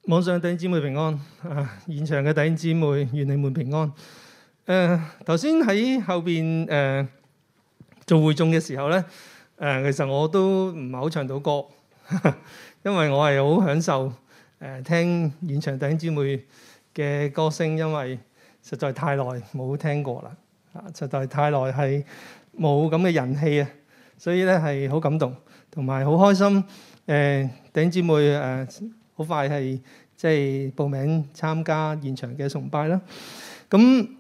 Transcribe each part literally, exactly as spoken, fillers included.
網上弟兄姊妹平安，啊，現場嘅弟兄姊妹願你們平安。誒頭先喺後邊誒、呃、做會眾嘅時候咧，誒、呃、其實我都唔係好唱到歌，因為我係好享受誒、呃、聽現場弟兄姊妹嘅歌聲，因為實在太耐冇聽過啦，啊，實在太耐係冇咁嘅人氣啊，所以咧係好感動，同埋好開心。誒、呃、弟兄姊妹誒。呃好快係即係報名參加現場嘅崇拜啦。咁誒、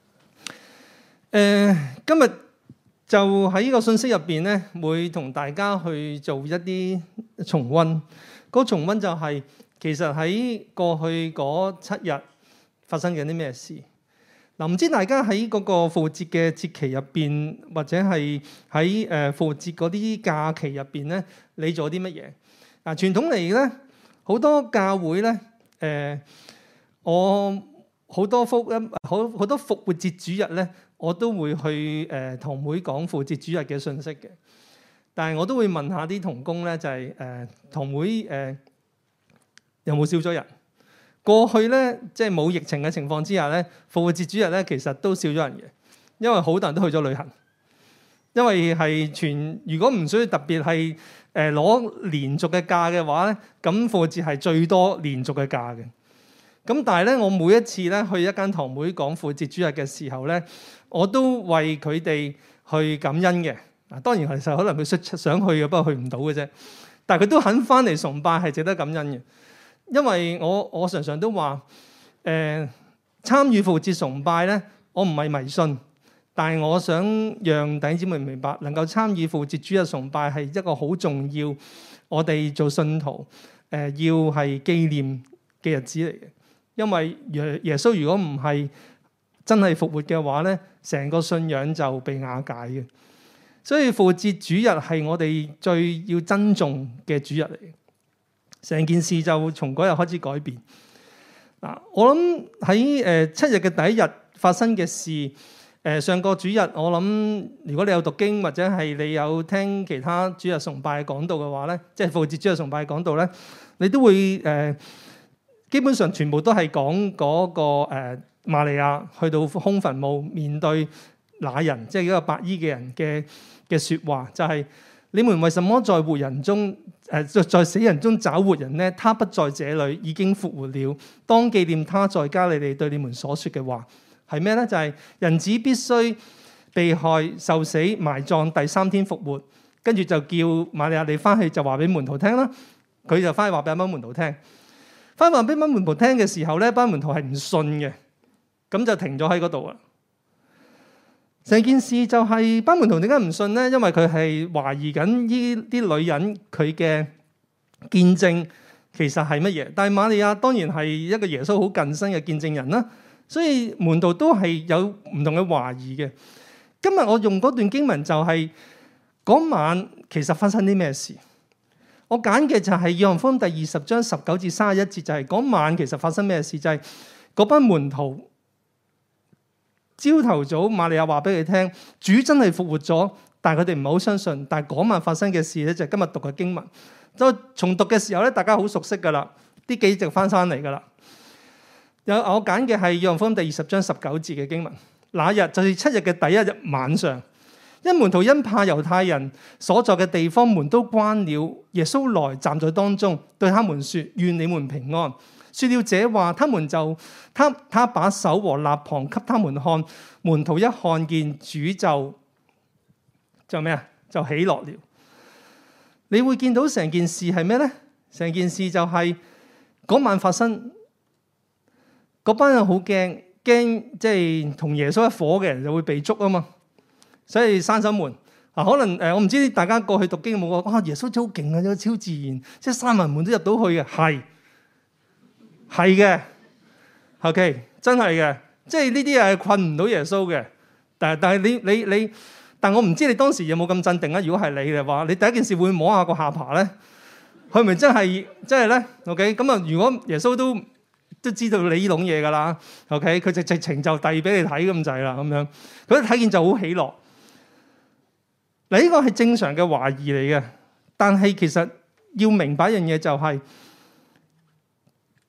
呃、今日就喺呢個信息入邊咧，會同大家去做一啲重溫。嗰、那個、重溫就係、是、其實喺過去嗰七日發生緊啲咩事。嗱，唔知大家喺嗰個復活節嘅節期入邊，或者係喺誒復活節嗰啲假期入邊咧，你做啲乜嘢？嗱，傳統嚟咧。好多教會咧，誒、呃，我好多復音，好好多復活節主日咧，我都會去誒堂會講復活節主日嘅信息嘅。但係我都會問下啲同工咧，就係誒堂會誒、呃、有冇少咗人？過去咧，即係冇疫情嘅情況之下咧，復活節主日咧其實都少咗人嘅，因為好多人都去咗旅行。因為係全，如果唔需要特別係。誒攞連續嘅假嘅話咧，咁復活節係最多連續嘅假嘅。咁但係咧，我每一次咧去一間堂會講復活節主日嘅時候咧，我都為佢哋去感恩嘅。嗱，當然其實可能佢想去嘅，不過去唔到嘅啫。但係佢都肯翻嚟崇拜，係值得感恩嘅。因為我我常常都話，誒、呃、參與復活節崇拜咧，我唔係迷信。但係我想讓弟兄姊妹明白，能夠參與復活節主日崇拜係一個好重要，我哋做信徒誒、呃、要係紀念嘅日子嚟嘅。因為耶耶穌如果唔係真係復活嘅話咧，成個信仰就被瓦解嘅。所以復活節主日係我哋最要珍重嘅主日嚟嘅。成件事就從嗰日開始改變。嗱，我諗喺誒七日嘅第一日發生嘅事。誒上個主日，我諗如果你有讀經或者係你有聽其他主日崇拜講道嘅話咧，即係復活節主日崇拜講道咧，你都會誒、呃、基本上全部都係講嗰個誒瑪利亞去到空墳墓面對那人，即係一個白衣嘅人嘅嘅説話，就係、是、你們為什麼在活人中誒、呃、在死人中找活人呢？他不在這裡，已經復活了。當紀念他在加利利對你們所說嘅話。係咩咧？就係、是、人子必須被害、受死、埋葬，第三天復活。跟住就叫瑪利亞你翻去就話俾門徒聽啦。佢就翻去話俾班門徒聽。翻話俾班門徒聽嘅時候咧，班門徒係唔信嘅，咁就停咗喺嗰度啦。成件事就係、是、班門徒點解唔信咧？因為佢係懷疑緊呢啲女人佢嘅見證其實係乜嘢。但係瑪利亞當然係一個耶穌好近身嘅見證人啦。所以門徒都係有唔同嘅懷疑嘅。今日我用嗰段經文就係、是、嗰晚其實發生啲咩事？我揀嘅就係《約翰福音》第二十章十九至三十一節，就係、是、嗰晚其實發生咩事？就係、是、嗰班門徒朝頭早瑪利亞話俾佢聽，主真係復活咗，但係佢哋唔係好相信。但係嗰晚發生嘅事咧，就係今日讀嘅經文。就重讀嘅時候咧，大家好熟悉噶啦，啲記憶就翻返嚟噶啦。有我揀嘅係《約翰福音》第二十章十九節嘅經文。那日就是七日嘅第一日晚上，因門徒因怕猶太人所在嘅地方門都關了，耶穌來站在當中，對他們說：願你們平安。說了這話，他們就他他把手和肋旁給他們看，門徒一看見主就就咩啊？就喜樂了。你會見到成件事係咩咧？成件事就係、是、嗰晚發生。嗰班人好驚，驚即係同耶穌一夥嘅人就會被捉啊嘛，所以閂守門啊。可能誒，我唔知大家過去讀經有冇話，哇！耶穌真係好勁啊，有超自然，即係閂埋門都入到去嘅，係係嘅。OK， 真係嘅，即係呢啲係困唔到耶穌嘅。但係但係你你你，但我唔知你當時有冇咁鎮定啊？如果係你嘅話，你第一件事會摸下個下巴咧，佢咪真係真係咧？OK，咁啊，如果耶穌都都知道你呢種嘢噶啦 ，OK？ 佢直直情就遞俾你睇咁滯啦，咁樣佢一睇見就好喜樂。嗱，呢個係正常嘅懷疑嚟嘅，但係其實要明白一樣嘢就係、是，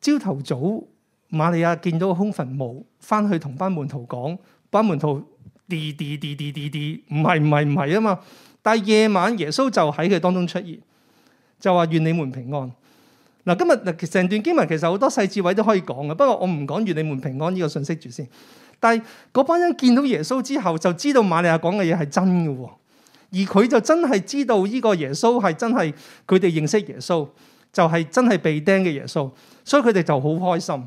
朝頭早瑪利亞見到個空墳墓，翻去同班門徒講，班門徒啲啲啲啲啲啲，唔係唔係唔係啊嘛。但係夜晚耶穌就喺佢當中出現，就話願你們平安。嗱，今日嗱成段經文其實好多細節位都可以講嘅，不過我唔講願你們平安呢個信息住先。但係嗰班人見到耶穌之後，就知道瑪利亞講嘅嘢係真嘅喎，而佢就真係知道呢個耶穌係真係佢哋認識耶穌，就係、是、真係被釘嘅耶穌，所以佢哋就好開心。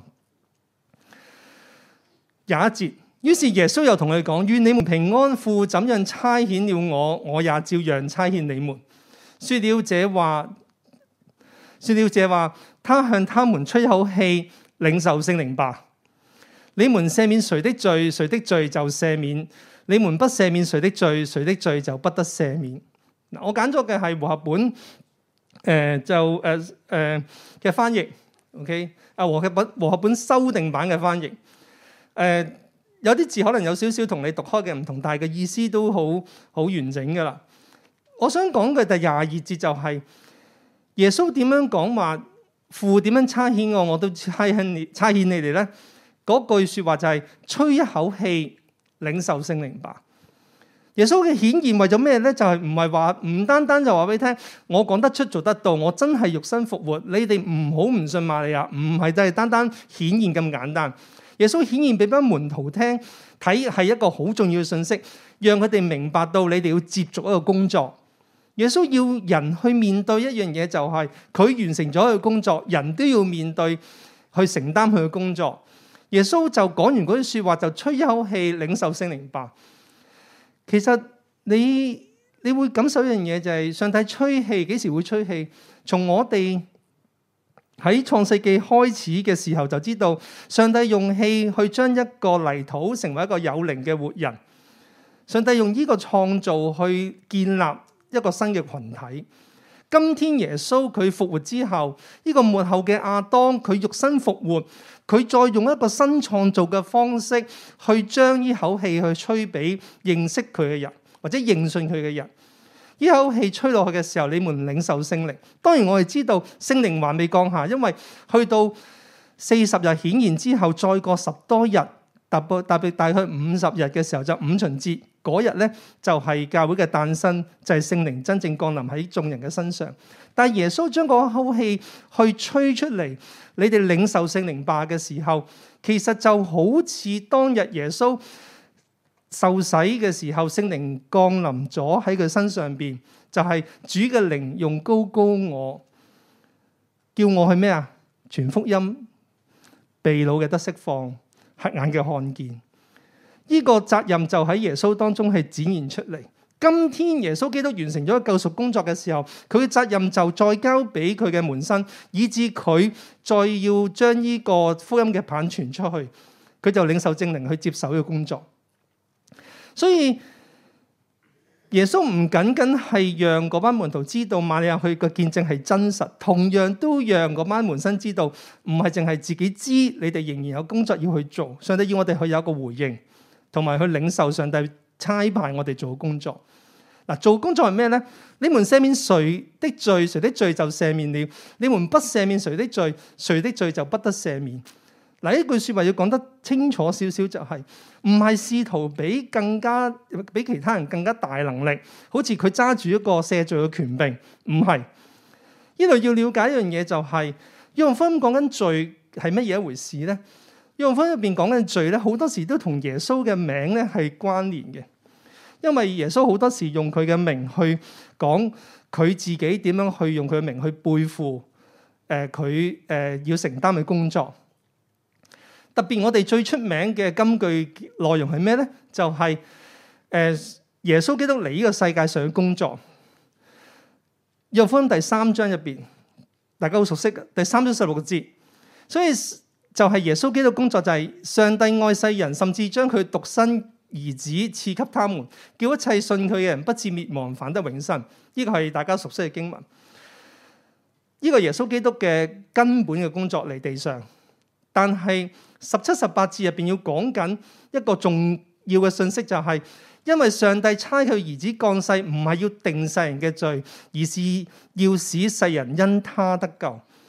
廿一節，於是耶穌又同佢講：願你們平安，父怎樣差遣了我，我也照樣差遣你們。說了這話，說了這話，他向他們吹口氣，領受聖靈吧。你們赦免誰的罪，誰的罪就赦免；你們不赦免誰的罪，誰的罪就不得赦免。嗱，我揀咗嘅係和合本，誒、呃、就誒誒嘅翻譯 ，OK 啊，和合本和合本修訂版嘅翻譯，誒、呃、有啲字可能有少少同你讀開嘅唔同，但係嘅意思都好好完整噶啦。我想講嘅第廿二節就係、是、耶穌點樣講話，父點樣差遣我，我都差遣你差遣你哋咧。嗰句說話就係吹一口氣，領受聖靈吧。耶穌嘅顯現為咗咩咧？就係唔係話唔單單就話俾你聽，我講得出做得到，我真係肉身復活。你哋唔好唔信瑪利亞，唔係就係單單顯現咁簡單。耶穌顯現俾班門徒聽，睇係一個好重要嘅信息，讓佢哋明白到你哋要接續一個工作。耶穌要人去面對一樣嘢，就係佢完成咗佢嘅工作，人都要面對去承擔佢嘅工作。耶穌就講完嗰啲說話，就吹一口氣，領受聖靈吧。其實你你會感受一樣嘢，就係上帝吹氣，幾時會吹氣？從我哋喺創世記開始嘅時候就知道，上帝用氣去將一個泥土成為一個有靈嘅活人。上帝用呢個創造去建立一個新嘅群體。今天耶穌佢復活之後，呢個末後嘅亞當佢肉身復活，佢再用一個新創造嘅方式去將呢口氣去吹俾認識佢嘅人或者認信佢嘅人。呢口氣吹落去嘅時候，你們領受聖靈。當然我哋知道聖靈還未降下，因為去到四十日顯現之後，再過十多日，特別特別大概五十日嘅時候就五旬節。嗰日咧就係教會嘅誕生，就係聖靈真正降臨喺眾人嘅身上。但係耶穌將嗰口氣去吹出嚟，你哋領受聖靈吧嘅時候，其實就好似當日耶穌受洗嘅時候，聖靈降臨咗喺佢身上邊，就係主嘅靈用膏膏我，叫我去咩啊？傳福音，被擄嘅得釋放，瞎眼嘅看見。呢個責任就喺耶穌當中係展現出嚟。今天耶穌基督完成咗救贖工作嘅時候，佢嘅責任就再交俾佢嘅門生，以致佢再要將呢個福音嘅棒傳出去，佢就領受聖靈去接手呢個工作。所以耶穌唔僅僅係讓嗰班門徒知道瑪利亞佢嘅見證係真實，同樣都讓嗰班門生知道，唔係淨係自己知，你哋仍然有工作要去做。上帝要我哋去有一個回應。同埋去領受上帝差派我哋做工作。嗱，做工作係咩呢？你們赦免誰的罪，誰的罪就赦免了；你們不赦免誰的罪，誰的罪就不得赦免。嗱，呢句說話要講得清楚少少，就係唔係試圖比更加比其他人更加大能力，好似佢揸住一個赦罪嘅權柄，唔係。呢度要了解一樣嘢，就係約翰福音講緊罪係乜嘢一回事呢？約翰福音入邊講緊罪咧，好多時都同耶穌嘅名咧係關聯嘅，因為耶穌好多時用佢嘅名去講佢自己點樣去用佢嘅名去背負誒佢誒要承擔嘅工作。特別我哋最出名嘅金句內容係咩咧？就係、是、誒、呃、耶穌基督嚟呢個世界上嘅工作。約翰福音第三章入邊，大家好熟悉嘅第三章十六個字，所以。就係耶穌基督工作，就係上帝愛世人，甚至將佢獨生兒子賜給他們，叫一切信佢嘅人不至滅亡，反得永生。呢個係大家熟悉嘅經文。呢個耶穌基督嘅根本嘅工作嚟地上，但係十七、十八節入邊要講緊一個重要嘅信息，就係因為上帝差佢兒子降世，唔係要定世人嘅罪，而是要使世人因他得救。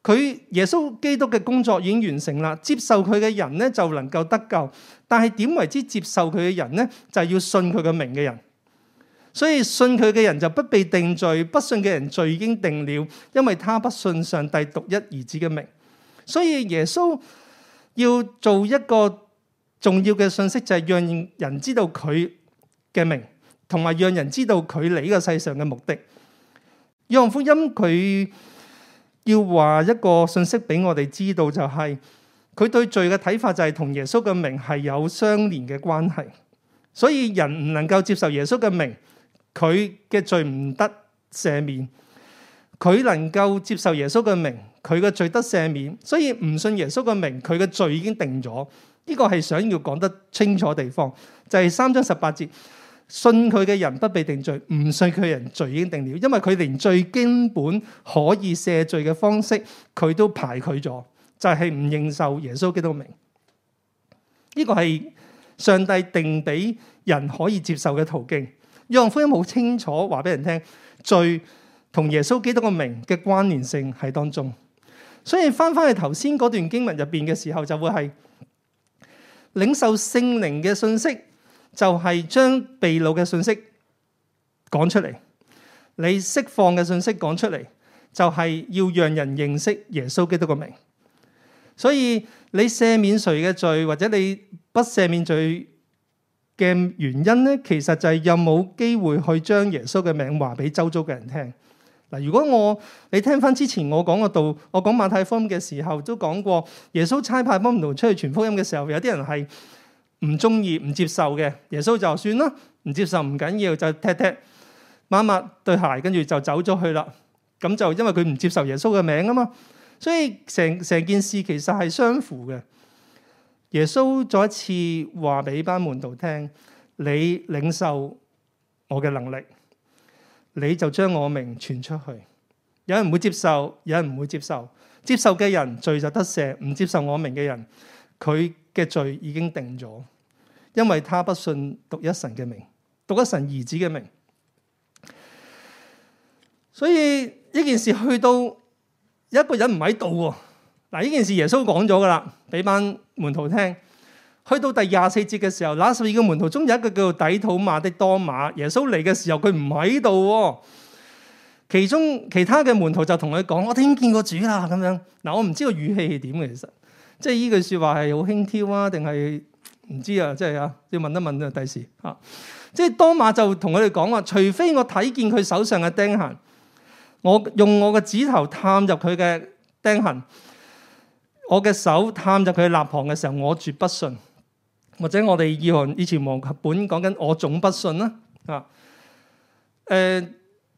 佢耶穌基督嘅工作已經完成啦，接受佢嘅人咧就能夠得救。但係點為之接受佢嘅人咧？就係要信佢嘅名嘅人。所以信佢嘅人就不被定罪，不信嘅人罪已經定了，因為他不信上帝獨一兒子嘅名。所以耶穌要做一個重要嘅信息，就係讓人知道佢嘅名，同埋讓人知道佢嚟呢個世上嘅目的。約翰福音佢要話一個信息俾我哋知道，就係佢對罪嘅睇法就係同耶穌嘅名係有相連嘅關係。所以人唔能夠接受耶穌嘅名，佢嘅罪唔得赦免；佢能夠接受耶穌嘅名，佢嘅罪得赦免。所以唔信耶穌嘅名，佢嘅罪已經定咗。呢個係想要講得清楚的地方，就係三章十八節，信佢嘅人不被定罪，唔信佢嘅人罪已經定了，因為佢連最基本可以赦罪嘅方式，佢都排拒咗，就係唔認受耶穌基督嘅名。呢個係上帝定俾人可以接受嘅途徑。約翰福音好清楚話俾人聽，罪同耶穌基督嘅名嘅關聯性喺當中。所以翻翻去頭先嗰段經文入邊嘅時候，就會係領受聖靈嘅信息，就係將被擄嘅信息講出嚟；你釋放嘅信息講出嚟，就係要讓人認識耶穌基督嘅名。所以你赦免誰嘅罪，或者你不赦免罪嘅原因咧，其實就係有冇機會去將耶穌嘅名話俾周遭嘅人聽。嗱，如果我你聽翻之前我講個道，我講馬太福音嘅時候都講過，耶穌差派門徒出去傳福音嘅時候，有啲人係唔中意、唔接受嘅。耶穌就算啦，唔接受唔緊要，就踢踢抹抹對鞋，跟住就走咗去啦。咁就因為佢唔接受耶穌嘅名啊嘛，所以成成件事其實係相符嘅。耶穌再一次話俾班門徒聽：你領受我嘅能力，你就將我名傳出去。有人唔會接受，有人唔會接受。接受嘅人罪就得赦，唔接受我名嘅人，佢嘅罪已經定咗，因為他不信獨一神嘅名，獨一神兒子嘅名。所以呢件事去到有一個人唔喺度喎。嗱，呢件事耶穌講咗噶啦，俾班門徒聽。去到第廿四節嘅時候，那十二個門徒中有一個叫做底土馬的多馬，耶穌嚟嘅時候佢唔喺度。其中其他嘅門徒就同佢講：我哋已經見過主啦。咁樣嗱，我唔知個語氣係點嘅，其實即係呢句說話係好輕佻啊，定係唔知啊？即係啊，要問一問啊，第時啊。即係多馬就同佢哋講話：除非我睇見佢手上嘅釘痕，我用我嘅指頭探入佢嘅釘痕，我嘅手探入佢嘅肋旁嘅時候，我絕不信。或者我哋以前以前和合本講緊我總不信啦啊。誒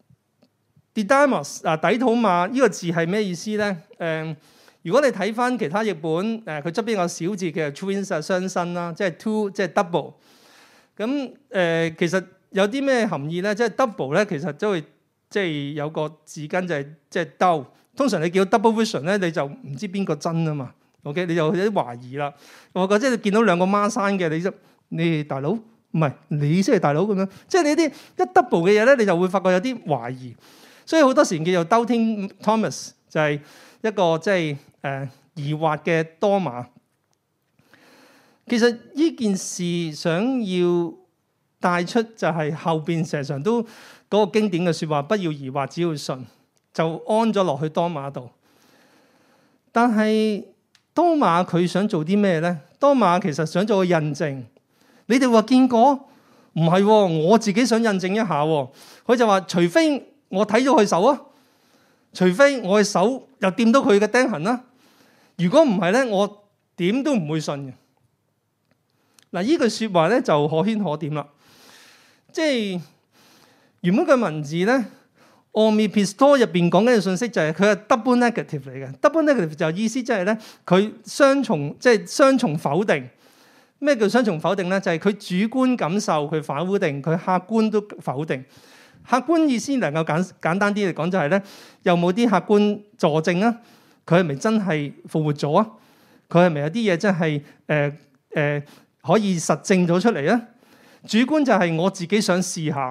Didymus 啊，底土馬呢個字係咩意思咧？誒、呃，如果你睇翻其他譯本，誒佢側邊有個小字嘅 twins 啊，雙生啦，即係 two 即係 double。咁誒、呃，其實有啲咩含義咧？即係 double 咧，其實都會即係有個字根就係即係兜。通常你叫 double vision 咧，你就唔知邊個真啊嘛。OK， 你就有啲懷疑啦。我覺得即係見到兩個孖生嘅，你就你大佬唔係你先係大佬咁樣。即係你啲一 double 嘅嘢咧，你就會發覺有啲懷疑。所以好多時叫做 Doubting Thomas，就係一個即係誒疑惑嘅多馬。其實呢件事想要帶出就係後邊成日常都嗰個經典嘅説話，不要疑惑，只要信，就安咗落去多馬度。但係多馬佢想做啲咩咧？多馬其實想做個印證。你哋話見過？唔係喎，我自己想印證一下喎。佢就話：除非我睇咗佢手啊，除非我嘅手又掂到佢嘅釘痕啦。如果唔係咧，我點都唔會信嘅。嗱，呢句説話咧就可圈可點啦。即係原本嘅文字咧。Omnipisto 入邊講緊嘅信息就係佢係 double negative 嚟嘅。double negative 就意思即係咧，佢雙重即係雙重否定。咩叫雙重否定咧？就係佢主觀感受佢否定，佢客觀都否定。客觀意思能夠簡簡單啲嚟講就係咧，有冇啲客觀佐證啊？佢係咪真係復活咗啊？佢係咪有啲嘢真係誒誒可以實證咗出嚟啊？主觀就係我自己想試下。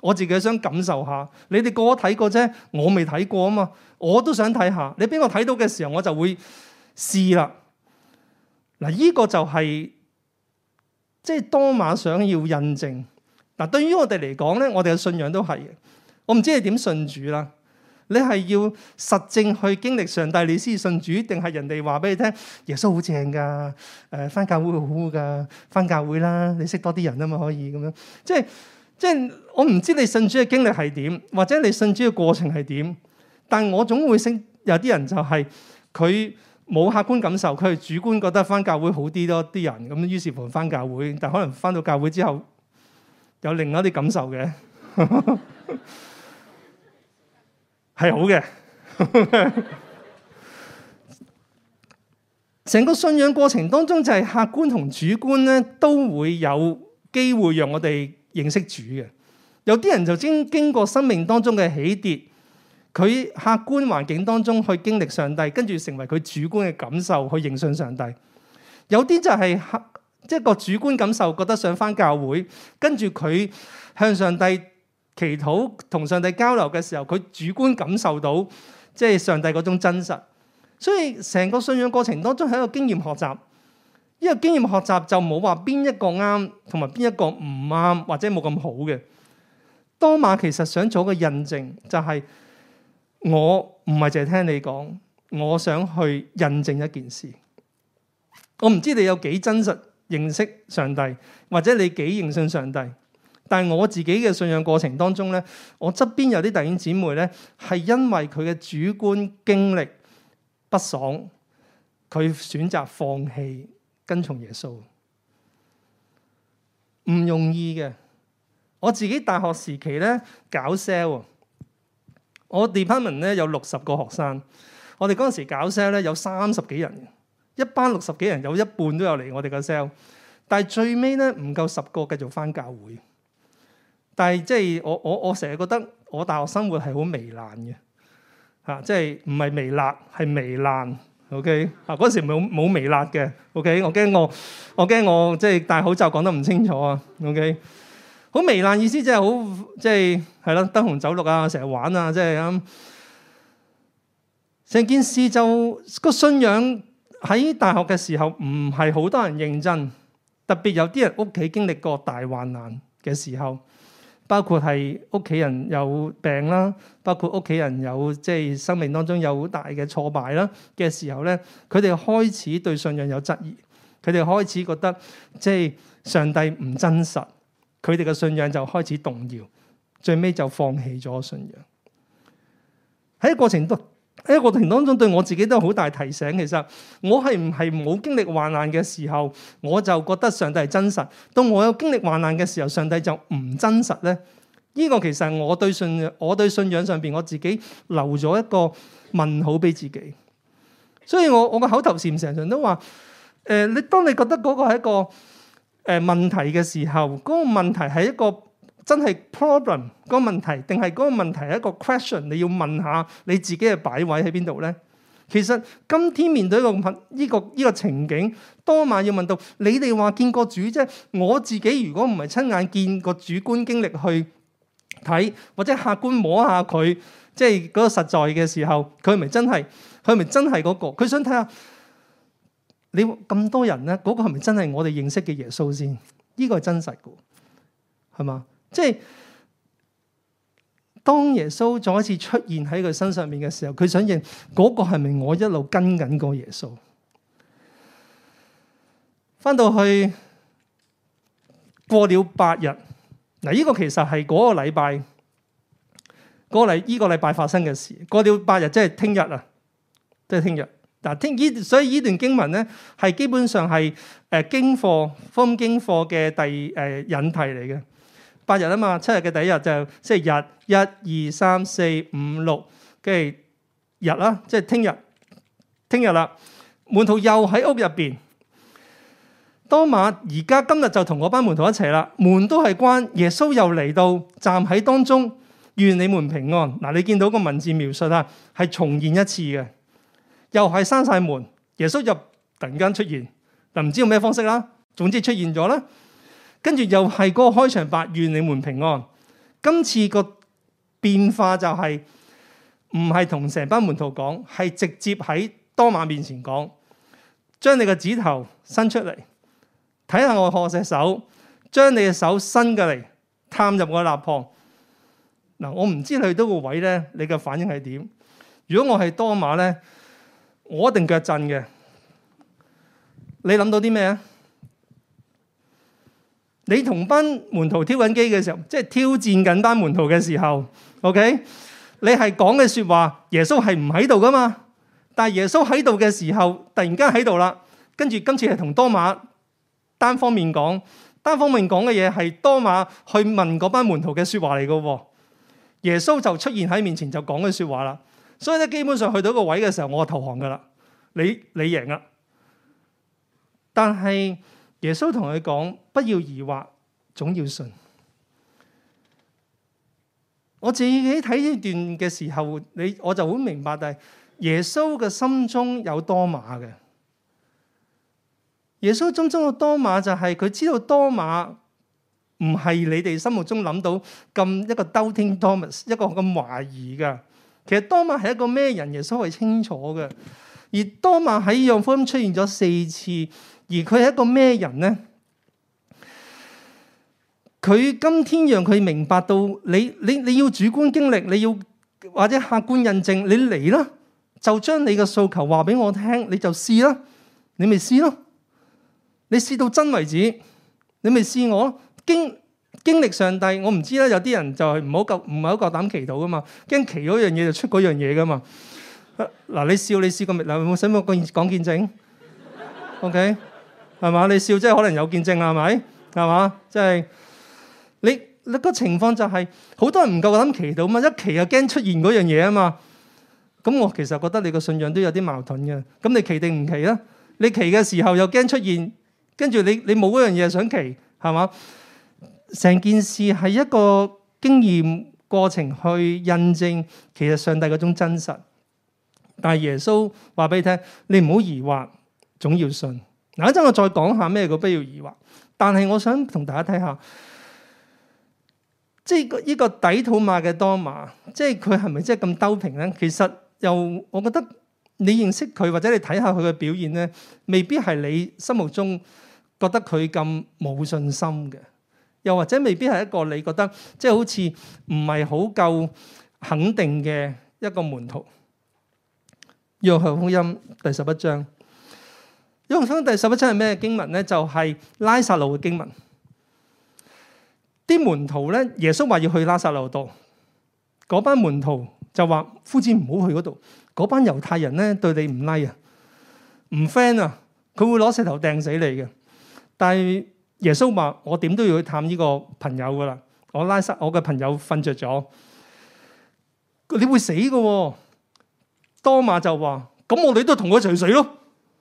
我自己想感受下。你哋個個睇過啫，我未睇過啊嘛，我都想睇下。你俾我睇到嘅時候，我就會試啦。嗱，呢個就係即係多馬想要印證。嗱，對於我哋嚟講咧，我哋嘅信仰都係嘅。我唔知你點信主啦。你係要實證去經歷上帝，你先信主，定係人哋話俾你聽耶穌好正噶？誒，返教會好好噶，返教會啦，你識多啲人啊嘛，可以咁樣。即係即係我唔知你信主嘅經歷係點，或者你信主嘅過程係點。但我總會識有啲人就係佢冇客觀感受，佢係主觀覺得返教會好啲多啲人咁，於是乎返教會，但可能返到教會之後有另外一啲感受嘅。係好嘅，成個信仰過程當中就係客觀同主觀咧，都會有機會讓我哋認識主嘅。有啲人就經經過生命當中嘅起跌，佢客觀環境當中去經歷上帝，跟住成為佢主觀嘅感受去認信上帝。有啲就係客即係個主觀感受，覺得想返教會，跟住佢向上帝祈禱同上帝交流嘅時候，佢主觀感受到即係上帝嗰種真實，所以成個信仰過程當中係一個經驗學習。呢個經驗學習就冇話邊一個啱同埋邊一個唔啱或者冇咁好嘅。多馬其實想做個印證，就係我唔係淨係聽你講，我想去印證一件事。我唔知你有幾真實認識上帝，或者你幾認信上帝。但係我自己嘅信仰過程當中咧，我側邊有啲弟兄姊妹咧，係因為佢嘅主觀經歷不爽，佢選擇放棄跟從耶穌，唔容易嘅。我自己大學時期咧搞 sale， 我 department 咧有六十個學生，我哋嗰陣時搞 sale 咧有三十幾人，一班六十幾人有一半都有嚟我哋個 sale， 但係最尾咧唔夠十個繼續返教會。但係即係我我我成日覺得我大學生活係好糜爛嘅嚇，即係唔係微辣係糜爛。OK 啊，嗰時冇冇微辣嘅。OK，我驚我我驚我即係戴口罩講得唔清楚啊。OK，好糜爛意思即係好即係係咯，燈紅酒綠啊，成日玩啊，即係咁。成件事就個信仰喺大學嘅時候唔係好多人認真，特別有啲人屋企經歷過大患難嘅時候。包括係屋企人有病啦，包括屋企人有即係生命當中有好大嘅挫敗啦嘅時候咧，佢哋開始對信仰有質疑，佢哋開始覺得即係上帝唔真實，佢哋嘅信仰就開始動搖，最尾就放棄咗信仰。喺過程當喺過程當中，對我自己都有好大提醒。其實我係唔係冇經歷患難嘅時候，我就覺得上帝係真實；當我有經歷患難嘅時候，上帝就唔真實咧。呢個其實我對信我對信仰上邊我自己留咗一個問號俾自己。所以我我個口頭禪成日都話：誒，你當你覺得嗰個係一個誒問題嘅時候，嗰個問題係一個真係 problem 嗰個問題，定係嗰個問題係一個 question？ 你要問下你自己嘅擺位喺邊度咧？其實今天面對一個呢個呢個情景，多馬要問到你哋話見過主啫，我自己如果唔係親眼見過主觀經歷去睇，或者客觀摸下佢，即係嗰個實在嘅時候，佢係咪真係佢係咪真係嗰個？佢想睇下你咁多人咧，嗰個係咪真係我哋認識嘅耶穌先？呢個係真實嘅，係嘛？即係當耶穌再一次出現喺佢身上面嘅時候，佢想認嗰個係咪我一路跟緊個耶穌？翻到去過了八日，嗱，呢個其實係嗰個禮拜，嗰個禮呢個禮拜發生嘅事。過了八日，即係聽日啊，即係聽日。嗱，聽呢，所以呢段經文咧係基本上係誒經課福音經課嘅第誒引題嚟嘅。八日啊嘛，七日嘅第一日就即係日，一二三四五六，跟住日啦，即係聽日，聽日啦。門徒又喺屋入邊。多馬而家今日就同嗰班門徒一齊啦，門都係關，耶穌又嚟到站喺當中，願你們平安。嗱，你見到個文字描述啊，係重現一次嘅，又係閂晒門，耶穌就突然間出現，嗱，唔知用咩方式啦，總之出現咗啦。跟住又係嗰個開場白，願你們平安。 今次個變化就係唔係同成班門徒講，係直接喺多馬面前講，將你個指頭伸出嚟，睇下我何隻手，將你嘅手伸過嚟，探入我肋旁。嗱，我唔知你去到個位咧，你嘅反應係點？如果我係多馬咧，我一定腳震嘅。你諗到啲咩啊？你同班門徒挑緊機嘅時候，即係挑戰緊班門徒嘅時候 ，OK？ 你係講嘅説話，耶穌係唔喺度噶嘛？但係耶穌喺度嘅時候，突然間喺度啦。跟住今次係同多馬單方面講，單方面講嘅嘢係多馬去問嗰班門徒嘅説話嚟噶喎。耶穌就出現喺面前就講嘅説話啦。所以咧，基本上去到一個位嘅時候，我就投降噶啦。你你贏啦。但係耶穌同佢講，不要疑惑，總要信。我自己睇呢段嘅時候，你我就好明白，但係耶穌嘅心中有多馬嘅。耶穌心中嘅多馬就係佢知道多馬唔係你哋心目中諗到咁一個 doubting Thomas， 一個咁懷疑嘅。其實多馬係一個咩人，耶穌係清楚嘅。而多馬喺約翰福音出現咗四次，而佢係一個咩人呢？佢今天讓佢明白到你，你你要主觀經歷，你要或者客觀印證，你嚟啦，就將你嘅訴求話俾我聽，你就試啦，你咪試咯，你試到真為止，你咪試我經經歷上帝。我唔知啦，有啲人就係唔好夠，唔係好夠膽祈禱噶嘛，驚祈嗰樣嘢就出嗰樣嘢噶嘛。嗱，你笑你試過未？嗱，有冇使唔使講講見證 ？OK， 係嘛？你笑即係可能有見證啦，係咪？係嘛？即係。你你個情況就係、是、好多人唔夠膽祈禱嘛，一祈又驚出現嗰樣嘢啊嘛。咁我其實覺得你個信仰都有啲矛盾嘅。咁你祈定唔祈啦？你祈嘅時候又驚出現，跟住你你冇嗰樣嘢想祈，係嘛？成件事係一個經驗過程去印證其實上帝嗰種真實。但係耶穌話俾你聽，你唔好疑惑，總要信。嗱，一陣我再講下咩叫不要疑惑。但係我想同大家睇下。即係呢個底土馬嘅多馬，即係佢係咪真係咁兜平咧？其實又我覺得你認識佢或者你睇下佢嘅表現咧，未必係你心目中覺得佢咁冇信心嘅，又或者未必係一個你覺得即係好似唔係好夠肯定嘅一個門徒。約翰福音第十一章，約翰福音第十一章係咩經文咧？就係拉撒路嘅經文。啲門徒咧，耶穌話要去拉撒路度，嗰班門徒就話：夫子唔好去嗰度，嗰班猶太人咧對你唔 like 啊，唔 friend 啊，佢會攞石頭掟死你嘅。但係耶穌話：我點都要去探呢個朋友噶啦，我拉撒我嘅朋友瞓着咗，你會死噶喎。多馬就話：咁我哋都同佢一齊死咯。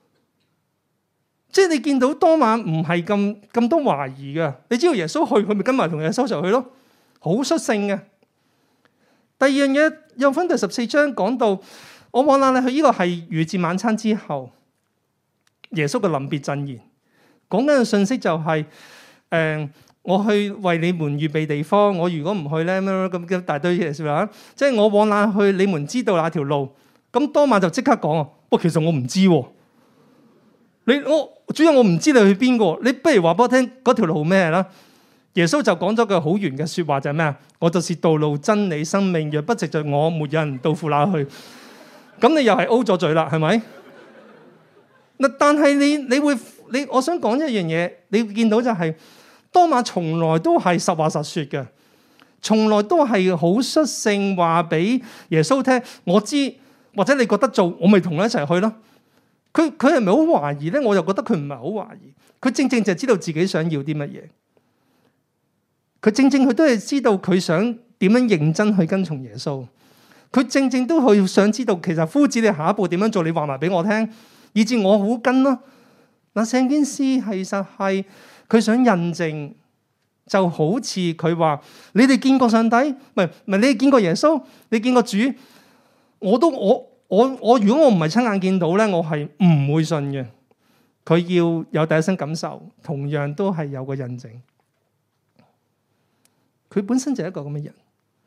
即係你見到多馬唔係咁咁多懷疑嘅，你知道耶穌去，佢咪跟埋同耶穌一齊去咯，好率性嘅。第二樣嘢，約翰第十四章講到，我往哪裏去？呢個係逾節晚餐之後，耶穌嘅臨別贈言，講緊嘅信息就係、是，誒、呃，我去為你們預備地方，我如果唔去咧，咁一大堆嘢說啦，即係我往哪去，你們知道那條路。咁多馬就即刻講啊，不過其實我唔知喎。你我主要我唔知你去邊個，你不如話俾我聽嗰條路咩啦？耶穌就講咗句好圓嘅說話，就係咩啊？我就是道路、真理、生命，若不藉着我，沒有人到父那去。咁你又係 O 咗嘴啦，係咪？嗱，但係你你會你，我想講一樣嘢，你會見到就係、是、多馬從來都係實話實說嘅，從來都係好率性話俾耶穌聽，我知或者你覺得做，我咪同你一齊去咯。佢佢係咪好懷疑咧？我又覺得佢唔係好懷疑，佢正正就係知道自己想要啲乜嘢。佢正正佢都係知道佢想點樣認真去跟從耶穌。佢正正都去想知道，其實夫子你下一步點樣做？你話埋俾我聽，以至我好跟咯。嗱，成件事其實係佢想印證，就好似佢話：你哋見過上帝？唔係唔係，你哋見過耶穌？你見過主？我都我。我我如果我唔係親眼見到咧，我係唔會信嘅。佢要有第一身感受，同樣都係有個印證。 佢本身就係一個咁嘅人。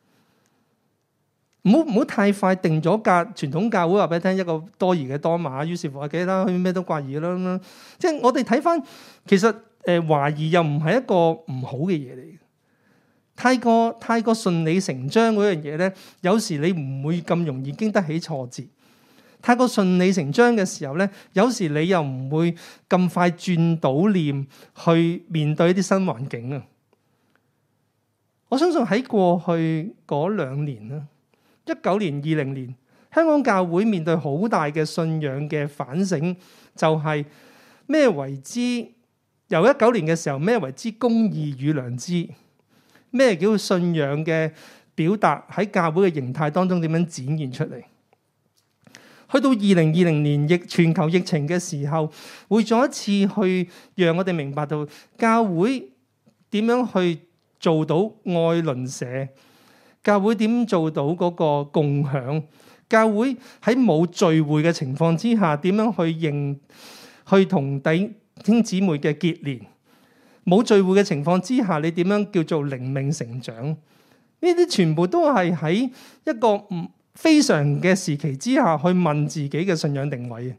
唔好唔好太快定咗格，傳統教會話俾你聽一個多疑嘅多馬，於是乎話記得佢咩都怪異啦咁樣。即係我哋睇翻，其實誒懷疑又唔係一個唔好嘅嘢嚟嘅。太過太過順理成章嗰樣嘢咧，有時你唔會咁容易經得起挫折。太過順理成章嘅時候咧，有時你又唔會咁快轉倒念去面對一啲新環境啊。我相信喺過去嗰兩年啦。一九年、二零年，香港教會面對好大嘅信仰嘅反省，就係咩為之？由一九年嘅時候，咩為之公義與良知？咩叫信仰嘅表達喺教會嘅形態當中點樣展現出嚟？去到二零二零年疫全球疫情嘅時候，會再一次去讓我哋明白到教會點樣去做到愛鄰舍。教會點做到嗰個共享？教會喺冇聚會嘅情況之下，點樣去認去同弟兄姊妹嘅結連？冇聚會嘅情況之下，你點樣叫做靈命成長？呢啲全部都係喺一個唔非常嘅時期之下去問自己嘅信仰定位。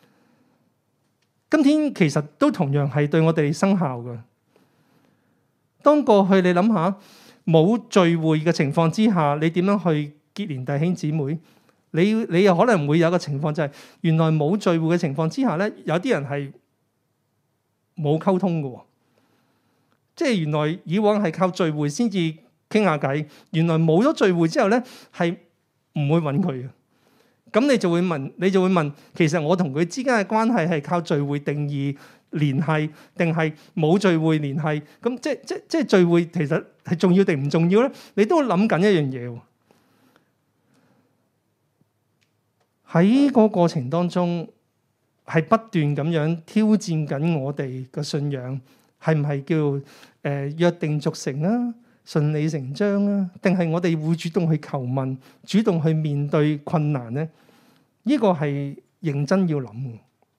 今天其實都同樣係對我哋生效嘅。當過去你諗下。冇聚會嘅情況之下，你點樣去結連弟兄姊妹？你你又可能會有一個情況，就係原來冇聚會嘅情況之下咧，有啲人係冇溝通嘅。即係原來以往係靠聚會先至傾下偈，原來冇咗聚會之後咧，係唔會揾佢嘅。咁你就會問，你就會問，其實我同佢之間嘅關係係靠聚會定義聯繫，定係冇聚會聯繫？咁即即即聚會其實係重要定唔重要咧？你都諗緊一樣嘢喎。喺個過程當中，係不斷咁樣挑戰緊我哋嘅信仰，係唔係叫誒、呃、約定俗成啊、順理成章啊？定係我哋會主動去求問、主動去面對困難咧？呢、這個係認真要諗嘅。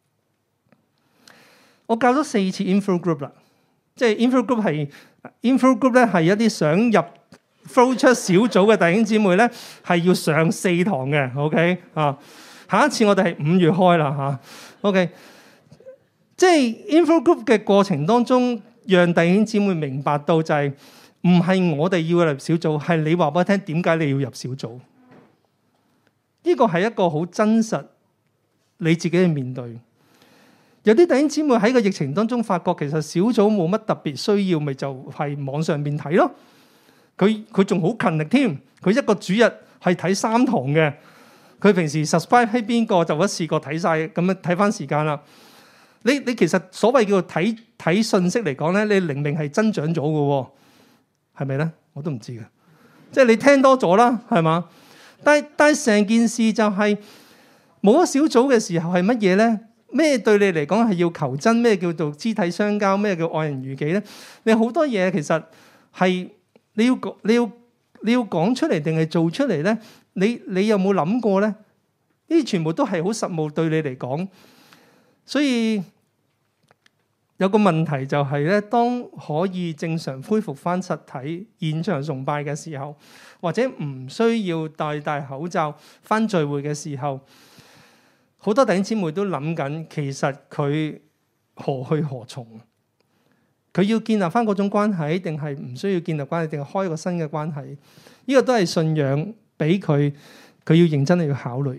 我教咗四次 info group 啦，即係 info group 係 info group 咧，係一啲想入 flow 出小組嘅弟兄姊妹咧，係要上四堂嘅。OK 啊，下一次我哋係五月開啦嚇。OK，即係 info group 嘅過程當中，讓弟兄姊妹明白到就係唔係我哋要入小組，係你話俾我聽點解你要入小組。呢個係一個好真實你自己去面對。有啲弟兄姊妹喺個疫情當中發覺，其實小組冇乜特別需要，咪就係網上面睇咯。佢佢仲好勤力添，佢一個主日係睇三堂嘅。佢平時 subscribe 喺邊個就一次過睇晒，咁樣睇翻時間啦。你你其實所謂叫做睇睇信息嚟講咧，你靈命係增長咗嘅，係咪咧？我都唔知嘅，即係你聽多咗啦，係嘛？但係但係成件事就係冇咗小組嘅時候係乜嘢咧？咩對你嚟講係要求真？咩叫做肢體相交？咩叫愛人如己咧？你好多嘢其實係你要講你要你要講出嚟定係做出嚟咧？你你有冇諗過咧？呢啲全部都係好實務對你嚟講，所以有個問題就係咧，當可以正常恢復翻實體現場崇拜嘅時候，或者唔需要戴戴口罩翻聚會嘅時候，好多弟兄姊妹都諗緊，其實佢何去何從？佢要建立翻嗰種關係，定係唔需要建立關係，定係開一個新嘅關係？呢個都係信仰俾佢，佢要認真地要考慮。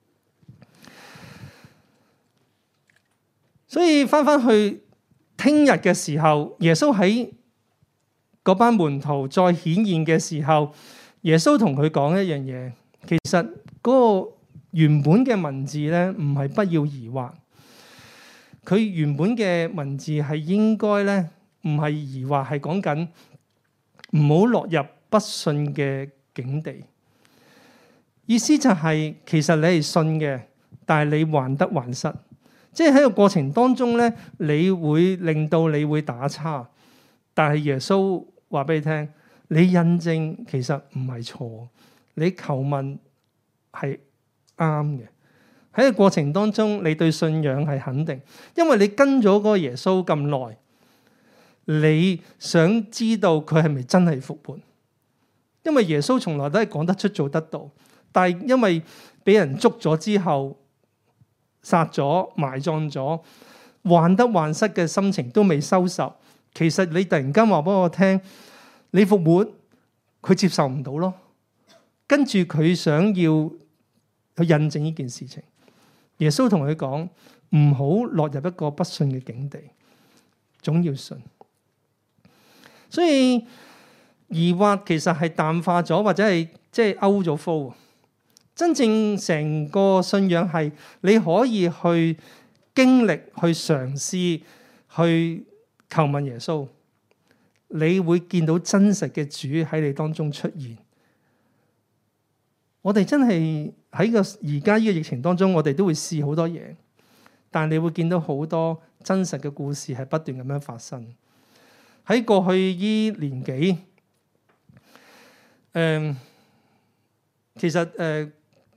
所以翻翻去聽日嘅時候，耶穌喺嗰班門徒再顯現嘅時候，耶穌同佢講一樣嘢，其實嗰個原本嘅文字咧，唔係不要疑惑。佢原本嘅文字係應該咧，唔係疑惑，係講緊唔好落入不信嘅境地。意思就係、是，其實你係信嘅，但係你患得患失。即係喺個過程當中咧，你會令到你會打叉。但係耶穌話俾你聽，你印證其實唔係錯，你求問係啱嘅。喺個過程當中，你對信仰係肯定，因為你跟咗嗰個耶穌咁耐，你想知道佢係咪真係復活？ 因為耶穌從來都係講得出做得到，但係因為俾人捉咗之後，殺咗埋葬咗，患得患失嘅心情都未收拾。其實你突然間話俾我聽，你復活，佢接受唔到咯。跟住佢想要去印證呢件事情，耶穌同佢講，唔好落入一個不信嘅境地，總要信。所以疑惑其實係淡化咗，或者係即係勾咗膚。真正成個信仰係你可以去經歷、去嘗試、去求問耶穌，你會見到真實嘅主喺你當中出現。我哋真係喺個而家呢個疫情當中，我哋都會試好多嘢，但你會見到好多真實嘅故事係不斷咁樣發生。喺過去呢年幾，誒、呃，其實誒，二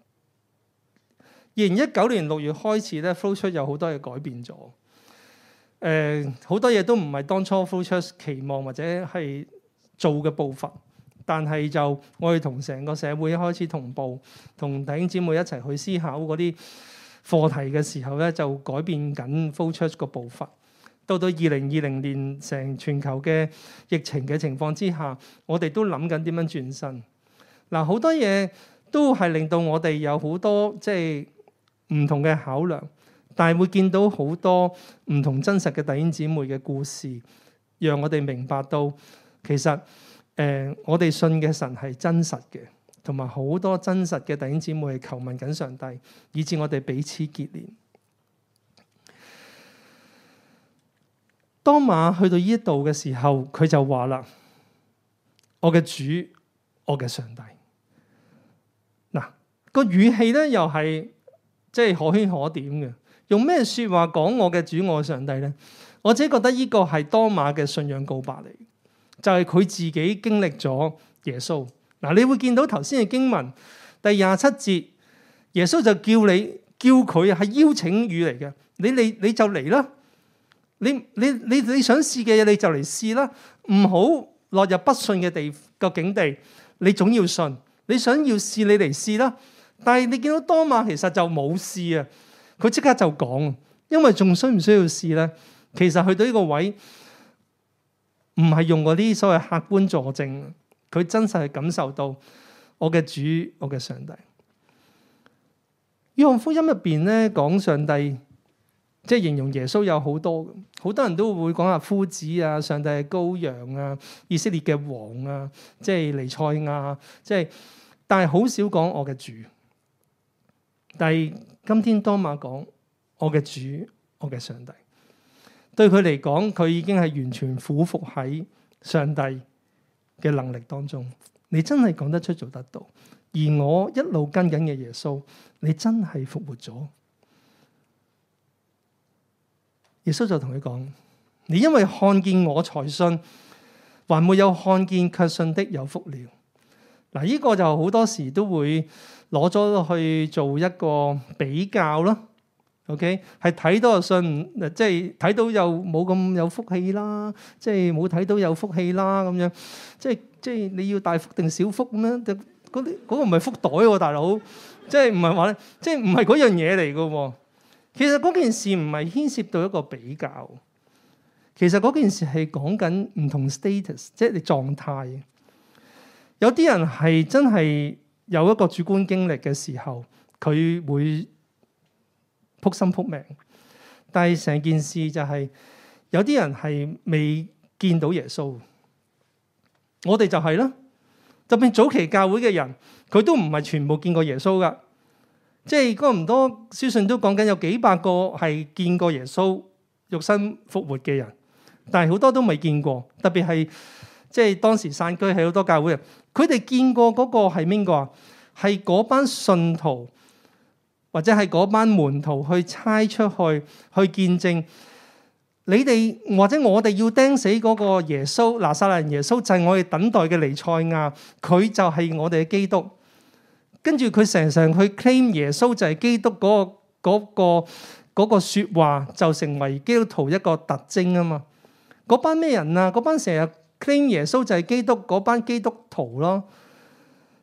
零一九年六月開始咧，flow church有好多嘢改變咗。誒、呃，好多嘢都唔係當初 flow church 期望或者係做嘅步伐。但係就我哋同成個社會一開始同步，同弟兄姊妹一齊去思考嗰啲課題嘅時候咧，就改變緊 flow church 個步伐。到到二零二零年成全球嘅疫情嘅情況之下，我哋都諗緊點樣轉身。嗱，好多嘢都係令到我哋有好多即係唔同嘅考量，但係會見到好多唔同真實嘅弟兄姊妹嘅故事，讓我哋明白到其實誒、呃，我哋信嘅神係真實嘅，同埋好多真實嘅弟兄姊妹係求問緊上帝，以致我哋彼此結連。當馬去到呢一度嘅時候，佢就話啦：我嘅主，我嘅上帝。嗱，個語氣咧又係即係可圈可點嘅。用咩說話講我嘅主，我嘅上帝咧？我自己覺得呢個係當馬嘅信仰告白嚟，就係佢自己經歷咗耶穌。嗱，你會見到頭先嘅經文第廿七節，耶穌就叫你叫佢係邀請語嚟嘅，你你你就嚟啦。你你你你想試嘅嘢你就嚟試啦，唔好落入不信嘅地個境地。你總要信，你想要試你嚟試啦。但係你見到多馬其實就冇試啊，佢即刻就講，因為仲需唔需要試咧？其實去到呢個位唔係用嗰啲所謂客觀佐證，佢真實係感受到我嘅主，我嘅上帝。約翰福音入邊咧講上帝。即係形容耶穌有好多，好多人都會講下夫子啊、上帝嘅羔羊啊、以色列嘅王啊，即係彌賽亞，即係，但係好少講我嘅主。但係今天多馬講我嘅主，我嘅上帝，對佢嚟講，佢已經係完全俯伏喺上帝嘅能力當中。你真係講得出做得到，而我一路跟緊嘅耶穌，你真係復活咗。耶穌就同佢講：你因為看見我才信，還沒有看見卻信的有福了。嗱，呢個就好多時都會攞咗去做一個比較咯。OK， 係睇到就信，即係睇到又冇咁有福氣啦，即係冇睇到有福氣啦咁樣。即係即係你要大福定小福咁樣？嗰啲嗰個唔係福袋喎，大佬，即係唔係話咧，即係唔係嗰樣嘢嚟噶喎。其實嗰件事唔係牽涉到一個比較，其實嗰件事係講緊唔同 status，即係你狀態。有啲人係真係有一個主觀經歷嘅時候，佢會撲心撲命。但係成件事就係、是、有啲人係未見到耶穌。我哋就係啦，特別早期教會嘅人，佢都唔係全部見過耶穌噶。即係哥林多書信都講緊有幾百個係見過耶穌肉身復活嘅人，但係好多都未見過。特別係即係當時散居喺好多教會，佢哋見過嗰個係邊個啊？係嗰班信徒或者係嗰班門徒去差出去去見證你哋，或者我哋要釘死嗰個耶穌，拿撒勒人耶穌就係我哋等待嘅彌賽亞，佢就係我哋嘅基督。跟住佢成成去 claim 耶穌就係基督嗰個嗰個嗰個說話，就成為基督徒一個特徵啊嘛。嗰班咩人啊？嗰班成日 claim 耶穌就係基督嗰班基督徒咯。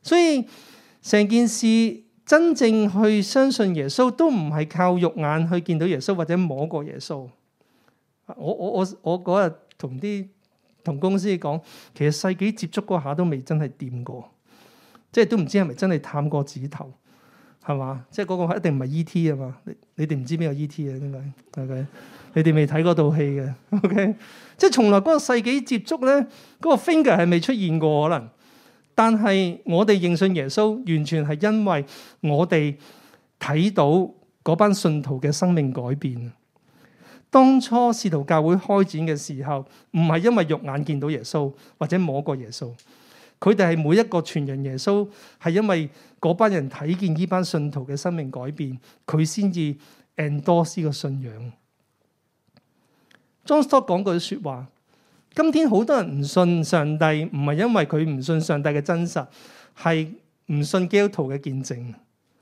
所以成件事真正去相信耶穌，都唔係靠肉眼去見到耶穌或者摸過耶穌。我我我我嗰日同啲同公司講，其實世紀接觸嗰下都未真係掂過，即係都唔知係咪真係探過指頭，係嘛？即係嗰個一定唔係 E T 啊嘛？你你哋唔知邊個 E T 啊？應該 OK？你哋未睇嗰套戲嘅 OK？即係從來嗰個世紀接觸咧，嗰個 finger 係未出現過可能，但係我哋認信耶穌，完全係因為我哋睇到嗰班信徒嘅生命改變。當初使徒教會開展嘅時候，唔係因為肉眼見到耶穌或者摸過耶穌，佢哋係每一個傳人耶穌，係因為嗰班人睇見呢班信徒嘅生命改變，佢先至 endorse 呢個信仰。John Stott 講句說話：今天好多人唔信上帝，唔係因為佢唔信上帝嘅真實，係唔信基督徒嘅見證。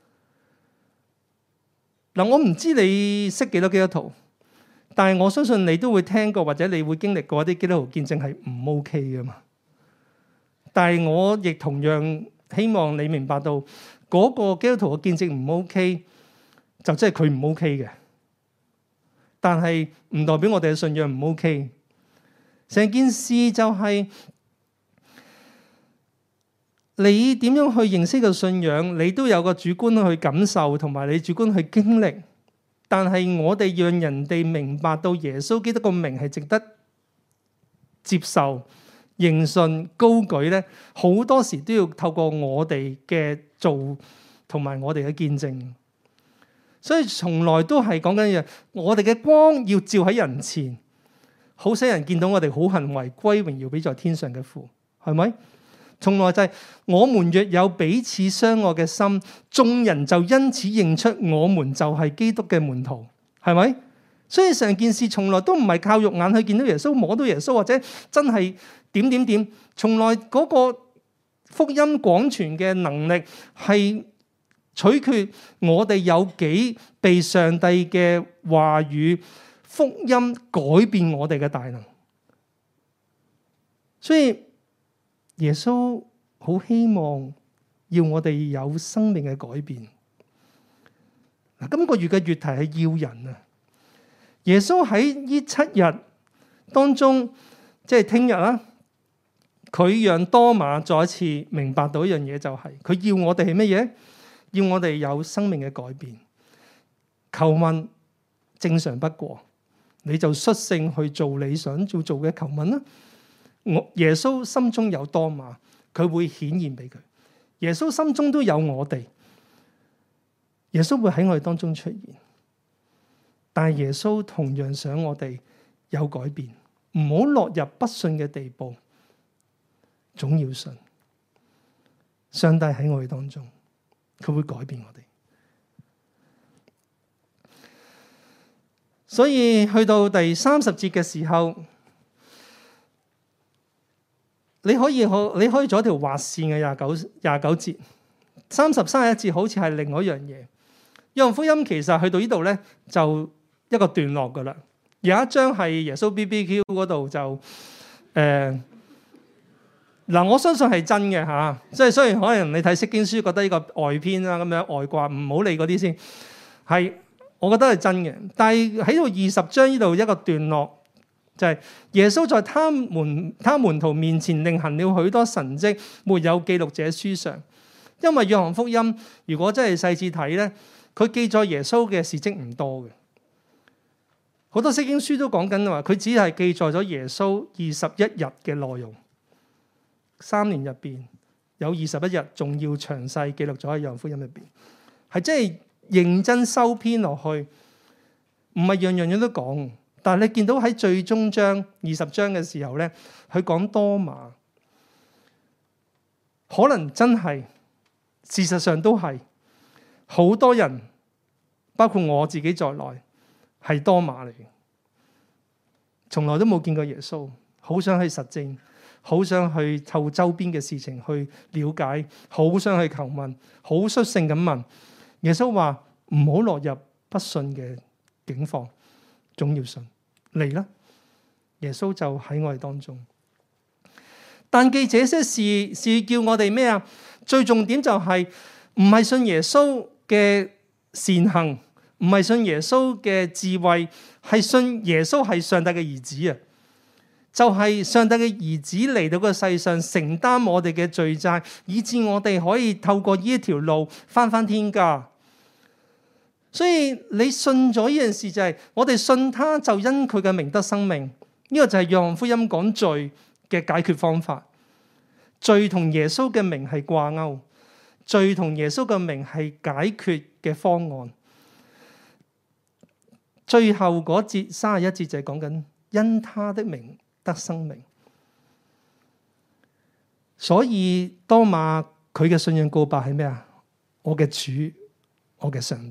嗱，我唔知你識幾多基督徒。但係我相信你都會聽過或者你會經歷過一啲基督徒見證係唔 OK 噶嘛。但係我亦同樣希望你明白到嗰個基督徒嘅見證唔 OK，就即係佢唔 OK 嘅。但係唔代表我哋嘅信仰唔 OK。成件事就係你點樣去認識個信仰，你都有個主觀去感受同埋你主觀去經歷。但係我哋讓人哋明白到耶穌基督個名係值得接受、認信、高舉咧，好多時都要透過我哋嘅做同埋我哋嘅見證。所以從來都係講緊嘢，我哋嘅光要照喺人前，好使人見到我哋好行為，歸榮耀俾在天上嘅父，係咪？從來就係、是、我們若有彼此相愛嘅心，眾人就因此認出我們就係基督嘅門徒，係咪？所以成件事從來都唔係靠肉眼去見到耶穌、摸到耶穌，或者真係點點點。從來嗰個福音廣傳嘅能力係取決我哋有幾被上帝嘅話語、福音改變我哋嘅大能。所以耶穌好希望要我哋有生命嘅改變。嗱，今個月嘅月題係要人啊。耶穌喺呢七日當中，即係聽日啦，佢讓多馬再一次明白到一樣嘢，就係佢要我哋係乜嘢？要我哋有生命嘅改變。求問正常不過，你就率性去做你想做做嘅求問啦。我耶穌心中有多馬，佢會顯現俾佢。耶穌心中都有我哋，耶穌會喺我哋當中出現。但係耶穌同樣想我哋有改變，唔好落入不信嘅地步，總要信。上帝喺我哋當中，佢會改變我哋。所以去到第三十節嘅時候，你可以可你可以做一條劃線嘅廿九廿九節，三十三十一節好似係另外一樣嘢。約翰福音其實去到呢度咧，就一個段落噶啦。有一章係耶穌 B B Q 嗰度就誒嗱、呃，我相信係真嘅嚇。即係雖然可能你睇釋經書覺得呢個外編啦咁樣外掛，唔好理嗰啲先。係我覺得係真嘅，但係喺度二十章呢度一個段落。就係耶穌在他們他門徒面前另行了許多神蹟，沒有記錄這書上。因為約翰福音如果真係細緻睇咧，佢記載耶穌嘅事蹟唔多嘅。好多釋經書都講緊話，佢只係記載咗耶穌二十一日嘅內容。三年入邊有二十一日，仲要詳細記錄咗喺約翰福音入邊，係真係認真收編落去，唔係樣樣嘢都講。但係你見到喺最終章二十章嘅時候咧，佢講多馬，可能真係，事實上都係好多人，包括我自己在內，係多馬嚟嘅，從來都冇見過耶穌，好想去實證，好想去湊周邊嘅事情去了解，好想去求問，好率性咁問。耶穌話唔好落入不信嘅境況，總要信。嚟啦！耶穌就喺我哋當中。 但記這些事是叫我哋咩啊？最重點就係唔係信耶穌嘅善行，唔係信耶穌嘅智慧，係信耶穌係上帝嘅兒子啊！就係上帝嘅兒子嚟到個世上承擔我哋嘅罪債，以致我哋可以透過呢一條路返返天家。所以你信咗呢件事就係、是、我哋信他就因佢嘅名得生命。呢、這個就係約翰福音講罪嘅解決方法。罪同耶穌嘅名係掛鈎，罪同耶穌嘅名係解決嘅方案。最後嗰節三十一節就係講緊因他的名得生命。所以多馬佢嘅信仰告白係咩啊？我嘅主，我嘅上帝。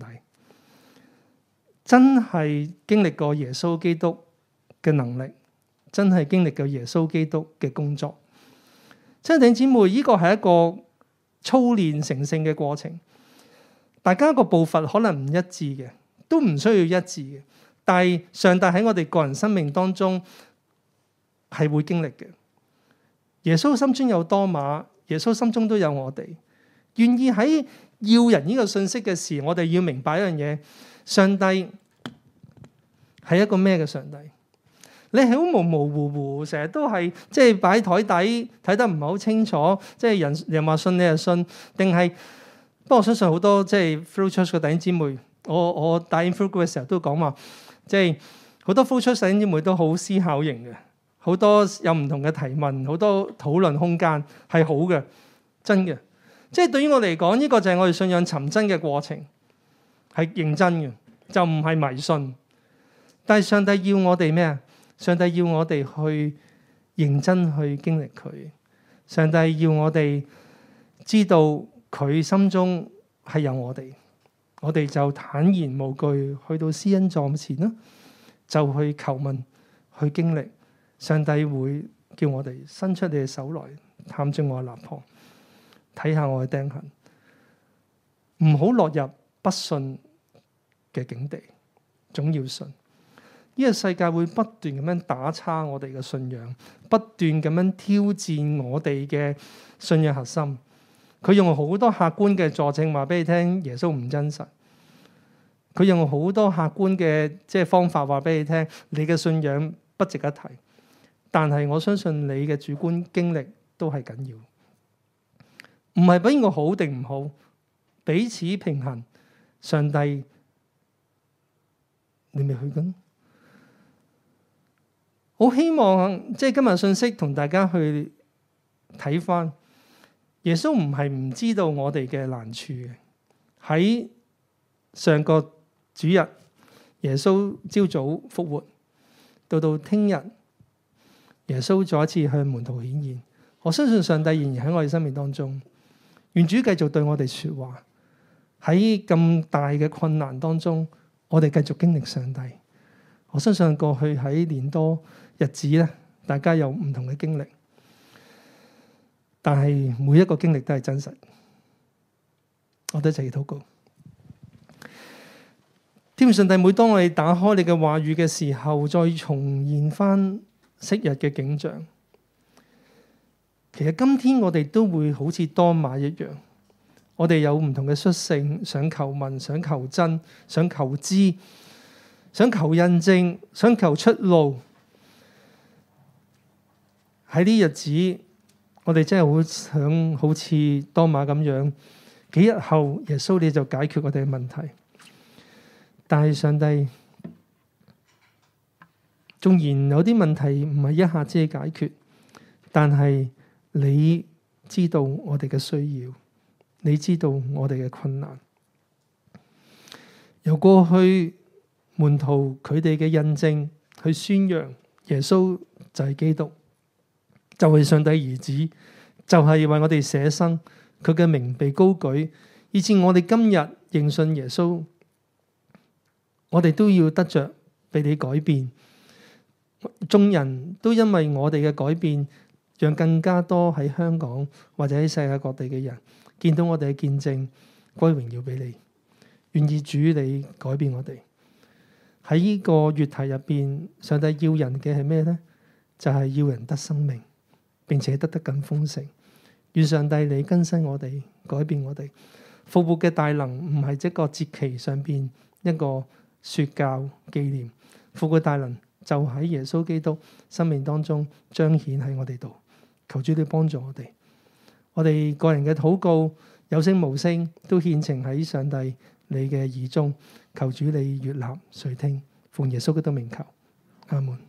真係經歷過耶穌基督嘅能力，真係經歷過耶穌基督嘅工作。親愛的姊妹，呢個係一個操練成聖嘅過程。大家個步伐可能唔一致嘅，都唔需要一致嘅。但係上帝喺我哋個人生命當中係會經歷嘅。耶穌心中有多馬，耶穌心中都有我哋。願意喺要人呢個信息嘅時，我哋要明白一樣嘢。上帝係一個咩嘅上帝？你係好模模糊糊，成日都係即係擺喺台底睇得唔係好清楚，即係人人話信你就信，定係？不過我相信好多即係 flow church 嘅弟兄姊妹，我我帶 inflow group 嘅時候都講話，即係好多 flow church 弟兄姊妹都好思考型嘅，好多有唔同嘅提問，好多討論空間係好嘅，真嘅。即係對於我嚟講，呢個就係我哋信仰尋真嘅過程。係認真嘅，就唔係迷信。但係上帝要我哋咩啊？上帝要我哋去認真去經歷佢。上帝要我哋知道佢心中係有我哋，我哋就坦然無懼去到施恩座前啦，就去求問，去經歷。上帝會叫我哋伸出你嘅手來，探進我嘅肋旁，睇下我嘅釘痕，唔好落入不信嘅境地，總要信。呢個世界會不斷咁樣打叉我哋嘅信仰，不斷咁樣挑戰我哋嘅信仰核心。佢用好多客觀嘅佐證話俾你聽，耶穌唔真實。佢用好多客觀嘅即係方法話俾你聽，你嘅信仰不值一提。但係我相信你嘅主觀經歷都係緊要，唔係邊個好定唔好，彼此平衡。上帝。你未去緊？好希望即係今日信息同大家去睇返，耶穌唔係唔知道我哋嘅難處嘅。喺上個主日，耶穌朝早復活，到到聽日，耶穌再一次向門徒顯現。我相信上帝仍然喺我哋生命當中，願主繼續對我哋說話。喺咁大嘅困難當中，我哋繼續經歷上帝。我相信過去喺年多日子咧，大家有唔同嘅經歷，但係每一個經歷都係真實。我哋一齊禱告。天父上帝，每當我哋打開你嘅話語嘅時候，再重現翻昔日嘅景象。其實今天我哋都會好似多馬一樣，我哋有唔同嘅率性，想求問，想求真，想求知，想求印證，想求出路。喺呢日子，我哋真係好想好似多馬咁樣，幾日後耶穌你就解決我哋嘅問題。但係上帝，縱然有啲問題唔係一下子解決，但係你知道我哋嘅需要，你知道我哋嘅困難。由過去門徒佢哋嘅印證去宣揚耶穌就係基督，就係上帝兒子，就係為我哋捨生，佢嘅名被高舉，以致我哋今日認信耶穌。我哋都要得着被你改變，眾人都因為我哋嘅改變，讓更加多喺香港或者喺世界各地嘅人見到我哋嘅見證，歸榮耀俾你。願意主你改變我哋。喺呢個月題入邊，上帝要人嘅係咩呢？就係、是、要人得生命， 並且得得更豐盛。願上帝你更新我哋，改變我哋。復活嘅大能唔係一個節期上邊一個説教紀念，復活大能就喺耶穌基督生命當中彰顯喺我哋度。求主你幫助我哋，我哋個人嘅禱告有聲無聲都獻呈喺上帝你嘅耳中。求主你悅納垂聽，奉耶穌基督名求，阿門。